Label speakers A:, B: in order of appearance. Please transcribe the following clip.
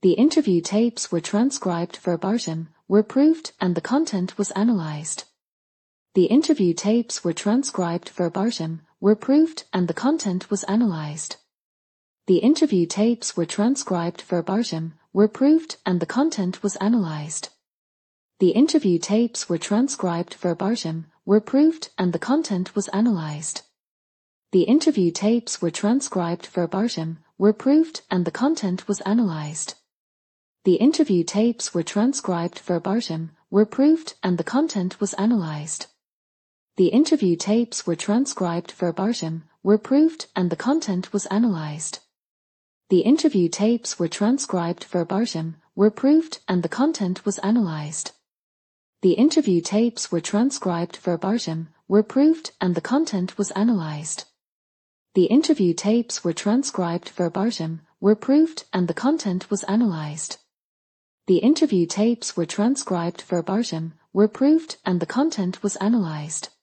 A: The interview tapes were transcribed verbatim, were proved, and the content was analyzed. The interview tapes were transcribed verbatim, were proved, and the content was analyzed. The interview tapes were transcribed verbatim, were proved, and the content was analyzed. The interview tapes were transcribed verbatim, were proved, and the content was analyzed. The interview tapes were transcribed verbatim, were proved, and the content was analyzed. The interview tapes were transcribed verbatim, were proved, and the content was analyzed. The interview tapes were transcribed verbatim, were proved, and the content was analyzed. The interview tapes were transcribed verbatim, were proved, and the content was analyzed. The interview tapes were transcribed verbatim, were proved, and the content was analyzed. The interview tapes were transcribed verbatim, were proved, and the content was analyzed. The interview tapes were transcribed verbatim, were proved, and the content was analyzed.